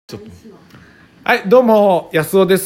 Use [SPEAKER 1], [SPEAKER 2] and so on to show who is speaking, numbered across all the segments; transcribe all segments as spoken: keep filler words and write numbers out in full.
[SPEAKER 1] ちょっとはい、どうも安尾です、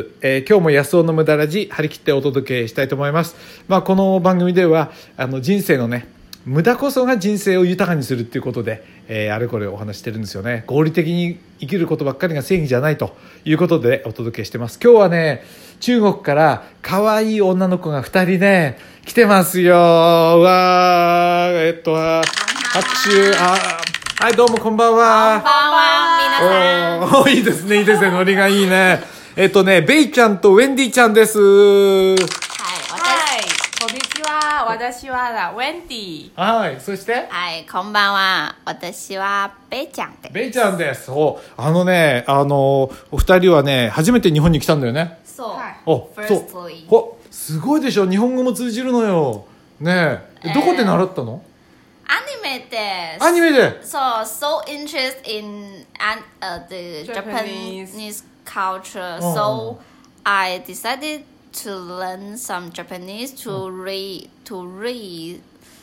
[SPEAKER 1] えー、今日も安尾の無駄ラジ張り切ってお届けしたいと思います。まあ、この番組ではあの人生のね無駄こそが人生を豊かにするっていうことで、えー、あれこれお話してるんですよね。合理的に生きることばっかりが正義じゃないということでお届けしてます。今日はね中国から可愛い女の子がふたりね来てますよ。うわーえっと拍手あはいどうもこんばんは。
[SPEAKER 2] こんばんは皆さん。
[SPEAKER 1] おいいですねいいですねノリがいいね。えっとねベイちゃんとウェンディちゃんです。
[SPEAKER 2] はい、
[SPEAKER 3] こんにちは。私はウェンディ。
[SPEAKER 1] はい、そして
[SPEAKER 2] はいこんばんは。私はベイちゃんです。
[SPEAKER 1] ベイちゃんです。おあのねあのお二人はね初めて日本に来たんだよね。
[SPEAKER 2] そう、
[SPEAKER 3] はい
[SPEAKER 1] おそう
[SPEAKER 2] Firstly
[SPEAKER 1] ほすごいでしょ日本語も通じるのよねえ。どこで習ったの？
[SPEAKER 2] アニメです。
[SPEAKER 1] アニメで。
[SPEAKER 2] そう so interested in an, uh, the
[SPEAKER 3] Japanese.
[SPEAKER 2] Japanese culture.
[SPEAKER 1] Oh.
[SPEAKER 2] So I decided to learn some Japanese to read to read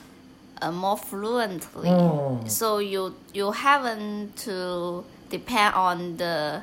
[SPEAKER 2] uh, more fluently.
[SPEAKER 1] Oh.
[SPEAKER 2] So you you haven't to depend on the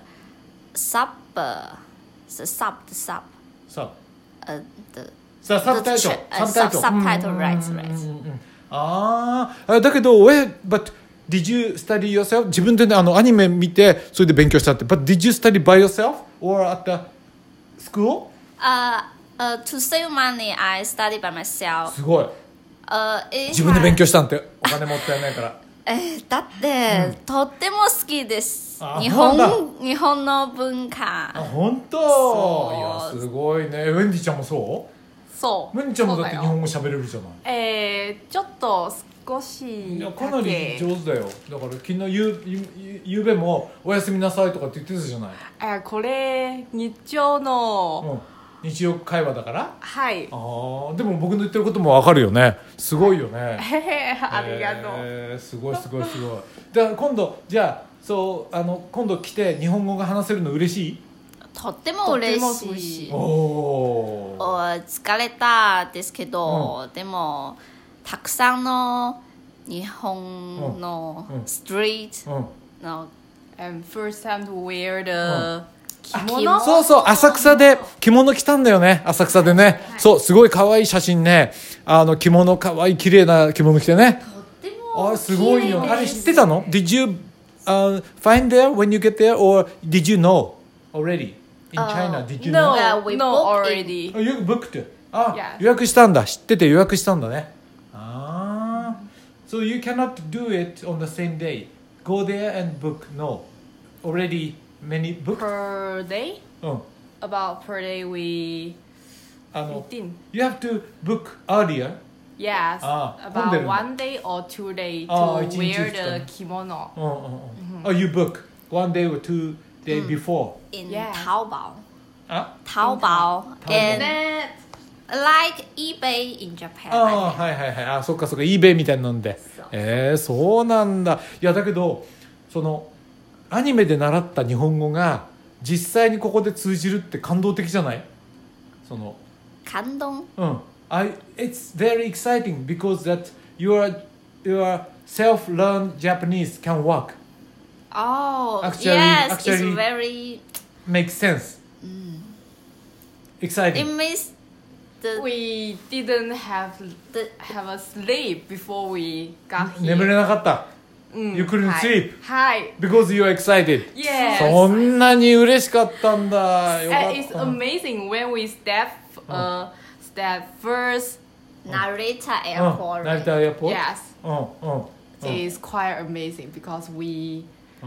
[SPEAKER 2] sub uh, the sub the sub
[SPEAKER 1] さ
[SPEAKER 2] uh, the
[SPEAKER 1] さサブタイトル
[SPEAKER 2] the tra- uh, sub subtitle right right.
[SPEAKER 1] ああだけど where but did you study yourself 自分でねあのアニメ見てそれで勉強したって but did you study by yourself or at the school
[SPEAKER 2] Uh, uh, to save money, I study by myself.
[SPEAKER 1] すごい
[SPEAKER 2] Uh, it
[SPEAKER 1] 自分で勉
[SPEAKER 2] has-
[SPEAKER 1] 強したんってお金もったいないから
[SPEAKER 2] えーだって、とっても好きです
[SPEAKER 1] あ
[SPEAKER 2] 日
[SPEAKER 1] そうなん
[SPEAKER 2] 本日本の文
[SPEAKER 1] あ
[SPEAKER 2] 化。
[SPEAKER 1] 本当
[SPEAKER 2] そう
[SPEAKER 1] いやすごいねウェンディちゃんもそう
[SPEAKER 3] そう。
[SPEAKER 1] ウェンディちゃんもだって日
[SPEAKER 3] そうよ
[SPEAKER 1] 本語喋れるじゃない
[SPEAKER 3] えー、ちょっと少し
[SPEAKER 1] いや
[SPEAKER 3] だけ。
[SPEAKER 1] かなり上手だよだから昨日ゆゆゆゆうべもおやすみなさいとかって言ってたじゃない、
[SPEAKER 3] えー、これ日常の、
[SPEAKER 1] うん、日常会話だから
[SPEAKER 3] はい。
[SPEAKER 1] あーでも僕の言ってることも分かるよねすごいよね
[SPEAKER 3] へへありがとう。
[SPEAKER 1] えーすごいすごいすごいだから今度じゃあそうあの今度来て日本語が話せるの嬉しい
[SPEAKER 2] とっても嬉
[SPEAKER 3] とっ
[SPEAKER 2] してい
[SPEAKER 3] も嬉しい
[SPEAKER 1] おお
[SPEAKER 2] お疲れたですけど、でもたくさんの日本の
[SPEAKER 1] うんうん
[SPEAKER 2] ストリート
[SPEAKER 1] うん
[SPEAKER 2] の
[SPEAKER 3] And first time to wear the 着
[SPEAKER 2] 着物
[SPEAKER 3] 物。
[SPEAKER 1] そうそう浅草で着物着たんだよね浅草でね、そうすごい可愛い写真ねあの着物可愛い綺麗な着物着てね
[SPEAKER 2] とっても
[SPEAKER 1] あすごいよ
[SPEAKER 2] 綺麗です
[SPEAKER 1] あれ知ってたの Did you、uh, find there when you get there or did you know already in China did you
[SPEAKER 3] No,
[SPEAKER 1] know
[SPEAKER 2] Yeah, we
[SPEAKER 3] no
[SPEAKER 2] booked
[SPEAKER 3] already.
[SPEAKER 1] Oh, you booked あ、
[SPEAKER 3] Yeah.
[SPEAKER 1] 予約したんだ知ってて予約したんだねああ So you cannot do it on the same day go there and book no already many booked
[SPEAKER 3] Per day?
[SPEAKER 1] うん
[SPEAKER 3] About per day we
[SPEAKER 1] あの
[SPEAKER 3] fifteen.
[SPEAKER 1] You have to book earlier
[SPEAKER 3] Yes.
[SPEAKER 1] あ混んでるん
[SPEAKER 3] About
[SPEAKER 1] だ
[SPEAKER 3] one day or two day
[SPEAKER 1] あ
[SPEAKER 3] to
[SPEAKER 1] 一日
[SPEAKER 3] wear
[SPEAKER 1] 二日
[SPEAKER 3] the 着物。
[SPEAKER 1] うんうんうん Oh you book one day or two day before
[SPEAKER 2] in
[SPEAKER 3] Yes.
[SPEAKER 2] Taobao
[SPEAKER 1] あ
[SPEAKER 2] Taobao
[SPEAKER 1] Taobao.
[SPEAKER 2] and
[SPEAKER 3] That
[SPEAKER 2] like eBay in Japan.
[SPEAKER 1] ああはいはいはいあそっかそっか eBay みたいなので
[SPEAKER 2] そう
[SPEAKER 1] えー、そうなんだいやだけどそのアニメで習った日本語が実際にここで通じるって感動的じゃないその
[SPEAKER 2] 感動
[SPEAKER 1] うん I, It's very exciting because that your, your self-learned Japanese can work
[SPEAKER 2] Oh,
[SPEAKER 1] Actually-
[SPEAKER 2] yes,
[SPEAKER 1] actually-
[SPEAKER 2] it's very.
[SPEAKER 1] make sense
[SPEAKER 2] It
[SPEAKER 1] exciting
[SPEAKER 2] means the
[SPEAKER 3] we didn't have
[SPEAKER 2] the
[SPEAKER 3] have a sleep before we got here.
[SPEAKER 1] 眠れなかった
[SPEAKER 3] うん
[SPEAKER 1] You couldn't
[SPEAKER 3] はい
[SPEAKER 1] sleep
[SPEAKER 3] はい。
[SPEAKER 1] because you're excited
[SPEAKER 3] Yes.
[SPEAKER 1] そんなに嬉しかったんだよかっ
[SPEAKER 3] And it's
[SPEAKER 1] た
[SPEAKER 3] amazing when we step uh step first.
[SPEAKER 2] Narita
[SPEAKER 1] うん、
[SPEAKER 2] Airport.
[SPEAKER 1] 成田エアポー
[SPEAKER 3] Yes,
[SPEAKER 1] トうんうんうん
[SPEAKER 3] it's quite amazing because we
[SPEAKER 1] うん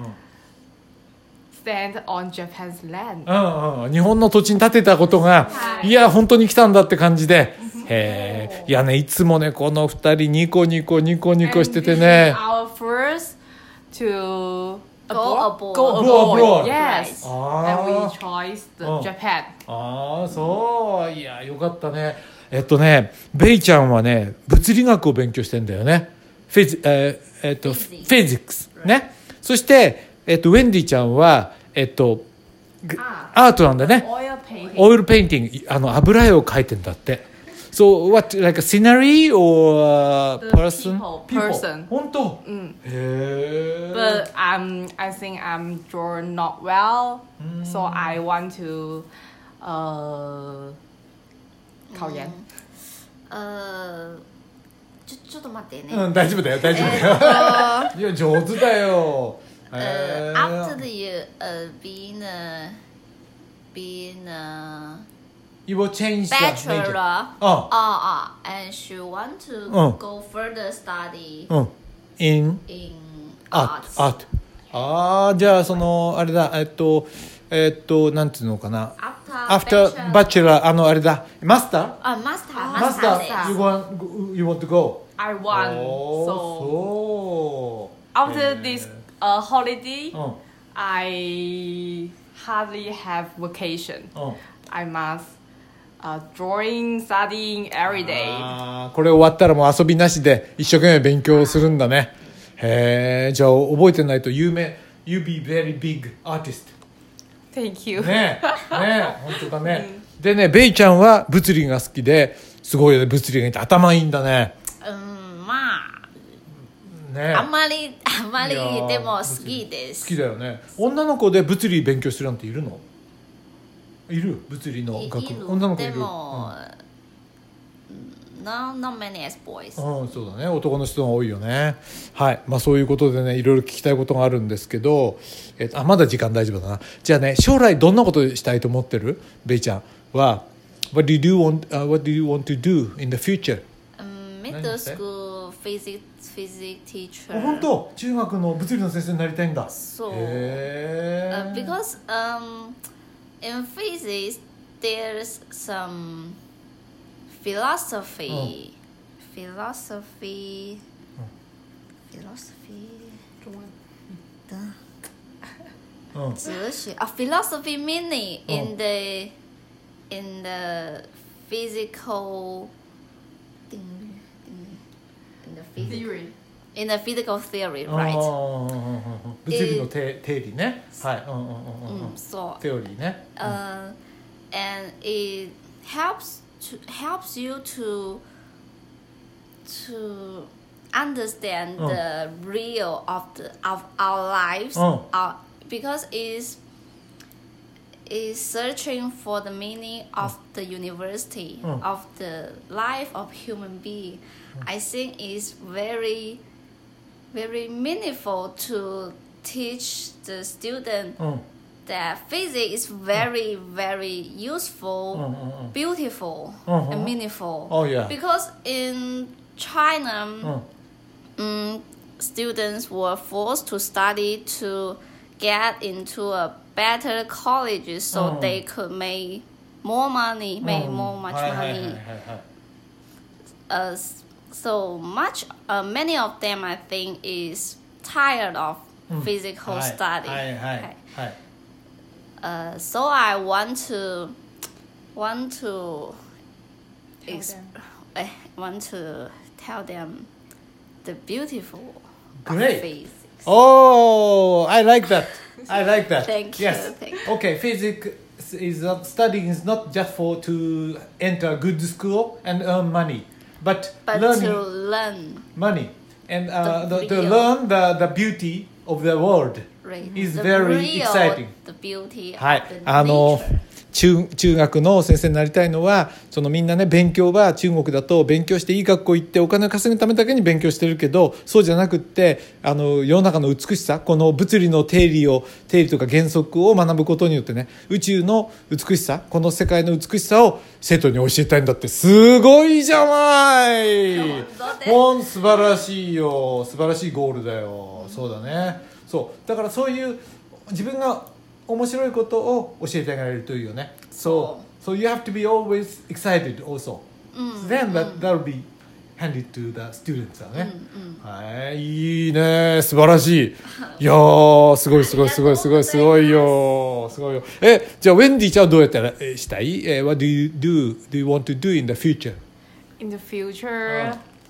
[SPEAKER 3] stand on Japan's land.
[SPEAKER 1] うんうん、日本の土地に建てたことが、
[SPEAKER 3] はい
[SPEAKER 1] いや本当に来たんだって感じで、へえいやねいつもねこの二人ニコニコニコニコしてて
[SPEAKER 3] And
[SPEAKER 1] ね
[SPEAKER 3] this is our first to
[SPEAKER 2] Go
[SPEAKER 3] abroad.
[SPEAKER 2] abroad.
[SPEAKER 3] Go
[SPEAKER 1] Go abroad.
[SPEAKER 3] abroad. Yes.
[SPEAKER 1] あ
[SPEAKER 3] And we
[SPEAKER 1] ー
[SPEAKER 3] chose the
[SPEAKER 1] Oh.
[SPEAKER 3] Japan.
[SPEAKER 1] あーそういやよかったねえっとねベイちゃんはね物理学を勉強してんだよねフェジ、えーえっとフ
[SPEAKER 2] Physics.
[SPEAKER 1] ェジックスねそして、えっと、ウェンディちゃんはえっと
[SPEAKER 3] あ
[SPEAKER 1] アートなんだね
[SPEAKER 3] Oil painting.
[SPEAKER 1] オイルペインティングあの油絵を描いてんだって So what, like a scenery or a
[SPEAKER 3] The
[SPEAKER 1] person?
[SPEAKER 3] people, person.
[SPEAKER 1] 本当。
[SPEAKER 3] Mm.
[SPEAKER 1] へー。
[SPEAKER 3] But um, I think I'm drawn not well, so I want to uh, 考研。
[SPEAKER 2] 呃，ちょちょっと待ってね。
[SPEAKER 1] うん、大丈夫だよ、大丈夫だよ。いや、上手だよ。
[SPEAKER 2] Uh,
[SPEAKER 1] へー
[SPEAKER 2] after the uh, being a being a
[SPEAKER 1] You will change the
[SPEAKER 2] bachelor,
[SPEAKER 1] major.
[SPEAKER 2] uh,
[SPEAKER 1] Oh.
[SPEAKER 2] uh, and she want to
[SPEAKER 1] Oh.
[SPEAKER 2] go further study
[SPEAKER 1] うん。in
[SPEAKER 2] in
[SPEAKER 1] art.
[SPEAKER 2] arts.
[SPEAKER 1] art. ああ、じゃあ、その、あれだ、えっと、えっと、なんていうのかな。
[SPEAKER 2] After,
[SPEAKER 1] After bachelor, あの、あれだ、マスター
[SPEAKER 2] あ、マスター、
[SPEAKER 1] マ
[SPEAKER 2] マスターで
[SPEAKER 1] スター、you want, you want to go?
[SPEAKER 3] I want.
[SPEAKER 1] おー、
[SPEAKER 3] So
[SPEAKER 1] そう。
[SPEAKER 3] after this uh, holiday,
[SPEAKER 1] うん。
[SPEAKER 3] I hardly have vacation.
[SPEAKER 1] うん。
[SPEAKER 3] I must uh, drawing, studying every day.
[SPEAKER 1] あーこれ終わったらもう遊びなしで一生懸命勉強するんだね。へえ、じゃあ覚えてないと有名 You be very big artist
[SPEAKER 3] Thank you.
[SPEAKER 1] ねえねえ本当だね、でねベイちゃんは物理が好きですごいよね、物理がいいって頭いいんだね。
[SPEAKER 2] うん、まあ、
[SPEAKER 1] ね
[SPEAKER 2] あんまり、あんまり
[SPEAKER 1] いやー
[SPEAKER 2] でも好きです。
[SPEAKER 1] 好きだよね。女の子で物理勉強してるなんているの？いる？物理の
[SPEAKER 2] い
[SPEAKER 1] 学
[SPEAKER 2] いる
[SPEAKER 1] 女の子いる？
[SPEAKER 2] でも、no, not many as boys.
[SPEAKER 1] うん、うん、そうだね、男の人が多いよね。はい、まあそういうことでね、いろいろ聞きたいことがあるんですけど、えっと、あまだ時間大丈夫だな。じゃあね、将来どんなことしたいと思ってる？ベイちゃんは What do you want、uh, What do you want to do in the future？
[SPEAKER 2] Um,
[SPEAKER 1] 何
[SPEAKER 2] middle
[SPEAKER 1] して？
[SPEAKER 2] school physics physics
[SPEAKER 1] あ
[SPEAKER 2] teacher.
[SPEAKER 1] 本当？中学の物理の先生になりたいんだ。
[SPEAKER 2] そう
[SPEAKER 1] へ
[SPEAKER 2] Uh,
[SPEAKER 1] ー
[SPEAKER 2] because um, in physics there's some philosophy, philosophy, philosophy.
[SPEAKER 1] うん、
[SPEAKER 2] 哲学 a philosophy meaning in the in the physical thing in the physical
[SPEAKER 3] Theory.
[SPEAKER 2] in the physical theory,
[SPEAKER 1] あー
[SPEAKER 2] right?
[SPEAKER 1] 物理の定定理ね。はい、うんうんうんうんうん。
[SPEAKER 2] Mm, so
[SPEAKER 1] テオリーね。
[SPEAKER 2] uh, and it helps to helps you to to understand
[SPEAKER 1] Oh.
[SPEAKER 2] the real of the of our lives,
[SPEAKER 1] Oh.
[SPEAKER 2] our, because it's is searching for the meaning of the university,
[SPEAKER 1] Oh.
[SPEAKER 2] of the life of human being. I think it's very very meaningful to teach the student
[SPEAKER 1] うん。
[SPEAKER 2] that physics is very very useful,
[SPEAKER 1] うんうんうん。
[SPEAKER 2] beautiful,
[SPEAKER 1] Uh-huh.
[SPEAKER 2] and meaningful.
[SPEAKER 1] Oh, yeah.
[SPEAKER 2] Because in China,
[SPEAKER 1] うん。
[SPEAKER 2] um, students were forced to study to get into a better colleges so
[SPEAKER 1] Oh.
[SPEAKER 2] they could make more money, make more much
[SPEAKER 1] はいはいはいはい
[SPEAKER 2] money.
[SPEAKER 1] はい。
[SPEAKER 2] Uh, so much, uh, many of them I think is tired of
[SPEAKER 1] うん
[SPEAKER 2] physical
[SPEAKER 1] はい
[SPEAKER 2] study.
[SPEAKER 1] はいはい
[SPEAKER 2] Okay.
[SPEAKER 1] はい。
[SPEAKER 2] Uh, so I want to want to
[SPEAKER 3] Tell
[SPEAKER 2] ex-
[SPEAKER 3] them.
[SPEAKER 2] I want to tell them the beautiful of
[SPEAKER 1] Great.
[SPEAKER 2] physics.
[SPEAKER 1] Oh, I like that. I like that.
[SPEAKER 2] Thank you,
[SPEAKER 1] Yes.
[SPEAKER 2] thank you.
[SPEAKER 1] Okay, physics is not, studying is not just for to enter a good school and earn money, but,
[SPEAKER 2] But
[SPEAKER 1] learning
[SPEAKER 2] to learn,
[SPEAKER 1] money and uh,
[SPEAKER 2] The
[SPEAKER 1] the, to
[SPEAKER 2] real-
[SPEAKER 1] learn the, the beauty of the world
[SPEAKER 2] right?
[SPEAKER 1] is
[SPEAKER 2] the
[SPEAKER 1] very
[SPEAKER 2] real,
[SPEAKER 1] exciting.
[SPEAKER 2] the beauty
[SPEAKER 1] はい
[SPEAKER 2] of the
[SPEAKER 1] あの
[SPEAKER 2] nature.
[SPEAKER 1] 中中学の先生になりたいのはそのみんなね勉強は中国だと勉強していい学校行ってお金を稼ぐためだけに勉強してるけどそうじゃなくってあの世の中の美しさこの物理の定理を定理とか原則を学ぶことによってね宇宙の美しさこの世界の美しさを生徒に教えたいんだってすごいじゃない
[SPEAKER 2] 本当です
[SPEAKER 1] ほん素晴らしいよ素晴らしいゴールだよそうだねそうだからそういう自分が面白いことを教えてあげられるといいよね。So, so you have to be always excited also. Then that that'll be handed to the students だね。はいいいね素晴らしい。いやーすごいすごいすごいすごいすごいよすごいよ。えじゃあウェンディちゃんはどうやったらえしたい？え What do you do? Do you want to do in the future?
[SPEAKER 3] In the future,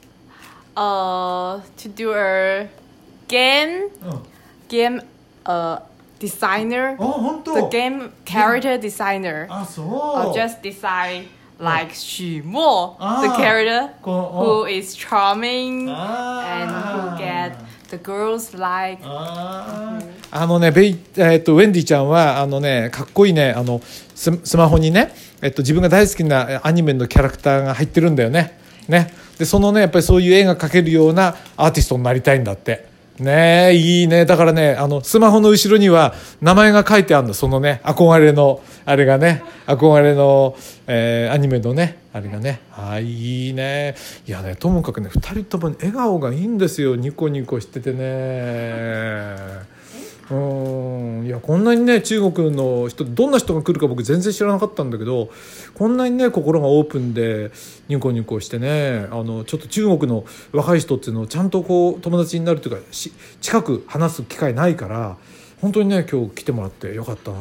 [SPEAKER 3] uh, to do a game,
[SPEAKER 1] うん。
[SPEAKER 3] game, uh, designer,
[SPEAKER 1] あ本当。
[SPEAKER 3] the game character designer.
[SPEAKER 1] あそう。
[SPEAKER 3] Or just design like Xu Mo,
[SPEAKER 1] Ah.
[SPEAKER 3] the character
[SPEAKER 1] Ko-
[SPEAKER 3] who
[SPEAKER 1] oh.
[SPEAKER 3] is charming
[SPEAKER 1] Ah.
[SPEAKER 3] and who get the girls like.
[SPEAKER 1] あーあのねベイ、えっとウェンディちゃんはあのねかっこいいねあのススマホにね、えっと、自分が大好きなえアニメのキャラクターが入ってるんだよね。ねでそのねやっぱりそういう絵が描けるようなアーティストになりたいんだってねえいいねだからねあのスマホの後ろには名前が書いてあるんだそのね憧れのあれがね憧れの、えーアニメのねあれがねあいいねいやねともかくねふたりとも笑顔がいいんですよニコニコしててねうんいやこんなにね中国の人どんな人が来るか僕全然知らなかったんだけどこんなにね心がオープンでニコニコしてねあのちょっと中国の若い人っていうのをちゃんとこう友達になるというかし近く話す機会ないから本当にね今日来てもらってよかったな、うん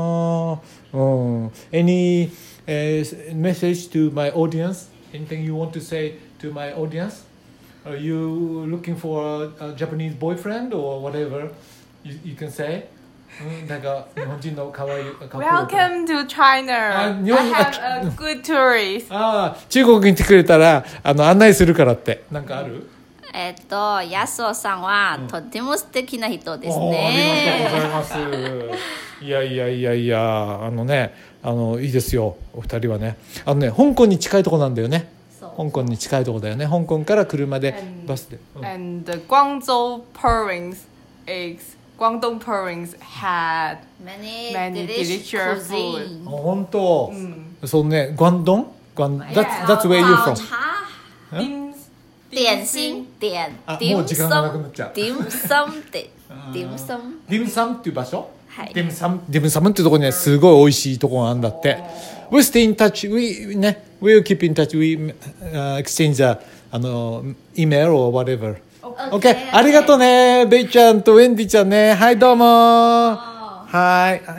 [SPEAKER 1] 、Any、uh, message to my audience? Anything you want to say to my audience? Are you looking for a, a Japanese boyfriend or whatever?You, you can say うんなんか日本人の可愛いかっこいい
[SPEAKER 3] Welcome to China. I
[SPEAKER 1] あ日本
[SPEAKER 3] have a good tourist.
[SPEAKER 1] ああ中国に来てくれたらあの案内するからってなんかある
[SPEAKER 2] えっと、やすおさんはとっても素敵な人です
[SPEAKER 1] おーありがとうご
[SPEAKER 2] ね。
[SPEAKER 1] ざいますいやいやいやいやあのねあのいいですよお二人はねあのね香港に近いところなんだよね
[SPEAKER 2] そう
[SPEAKER 1] 香港に近いところだよね香港から車で
[SPEAKER 3] And-
[SPEAKER 1] バスで、うん
[SPEAKER 3] And the Guangzhou province is Guangdong province had
[SPEAKER 2] Many,
[SPEAKER 3] Many
[SPEAKER 2] delicious
[SPEAKER 3] delicious food.
[SPEAKER 2] cuisine.
[SPEAKER 1] あ本当、
[SPEAKER 3] mm,
[SPEAKER 1] そうねグアンドングアン that's,
[SPEAKER 3] Yeah.
[SPEAKER 1] that's where you
[SPEAKER 2] 早
[SPEAKER 1] from
[SPEAKER 2] 茶、
[SPEAKER 3] dim,
[SPEAKER 2] 点心店、
[SPEAKER 1] あ
[SPEAKER 2] ディム
[SPEAKER 1] もう時間がなくなっちゃう
[SPEAKER 2] ディムサムって、ディムサム。
[SPEAKER 1] ディムサムっていう場所
[SPEAKER 2] はい
[SPEAKER 1] ディムサムディムサムっていうところにねすごい美味しいところがあるんだって We stay in touch we ね We'll keep in touch we、uh, exchange the あの email or whatever OK ありがとうねベイちゃんとウェンディちゃんねはいどうもはい